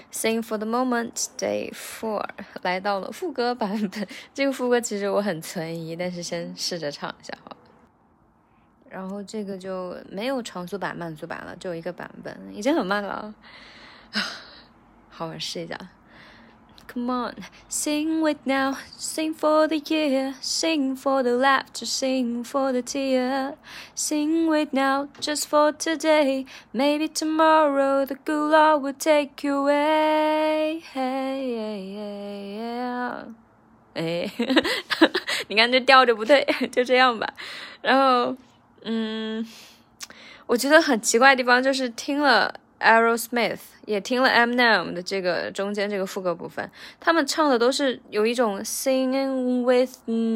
Sing for the moment Day 4来到了副歌版本，这个副歌其实我很存疑，但是先试着唱一下好了。然后这个就没有长速版慢速版了，只有一个版本，已经很慢了好，我试一下。Come on, sing with now, sing for the year, sing for the laughter, sing for the tear. Sing with now, just for today, maybe tomorrow the good Lord will take you away. Hey, 你看这调着不对，就这样吧。然后，我觉得很奇怪的地方就是听了Aerosmith 也听了 Eminem 的这个中间这个副歌部分，他们唱的都是有一种 sing with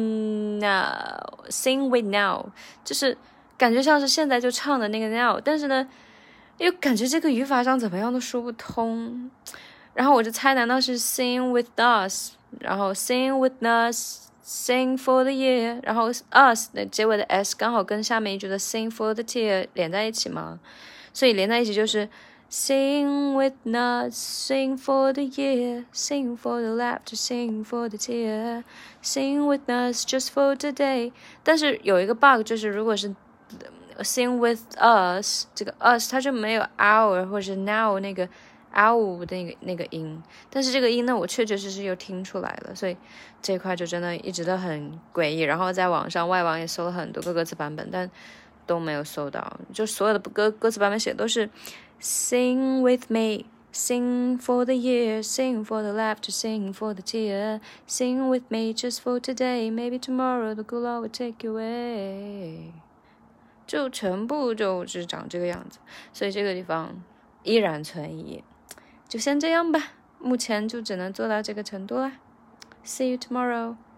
now， 就是感觉像是现在就唱的那个 now， 但是呢又感觉这个语法上怎么样都说不通，然后我就猜难道是 sing with us， 然后 sing with us，Sing for the year， 然后 us 的结尾的 s 刚好跟下面一句的 sing for the tear 连在一起嘛，所以连在一起就是 sing with us, sing for the year, sing for the laughter, sing for the tear, sing with us just for today。 但是有一个 bug 就是如果是 sing with us 这个 us 它就没有 our 或者是 now 那个 our 的那个音，但是这个音呢我确确实实又听出来了，所以这块就真的一直都很诡异，然后在网上外网也搜了很多个歌词版本，但都没有搜到，就所有的歌词版本写的都是 Sing with me, sing for the year, sing for the laughter, sing for the tear, sing with me just for today, maybe tomorrow the good Lord will take you away， 就全部就是长这个样子，所以这个地方依然存疑，就先这样吧，目前就只能做到这个程度啦。See you tomorrow.